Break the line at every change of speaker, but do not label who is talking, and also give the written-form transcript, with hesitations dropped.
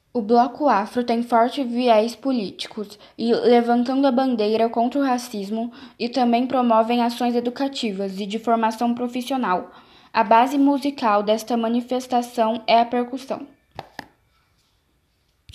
O Bloco Afro tem forte viés políticos e levantando a bandeira contra o racismo e também promovem ações educativas e de formação profissional. A base musical desta manifestação é a percussão.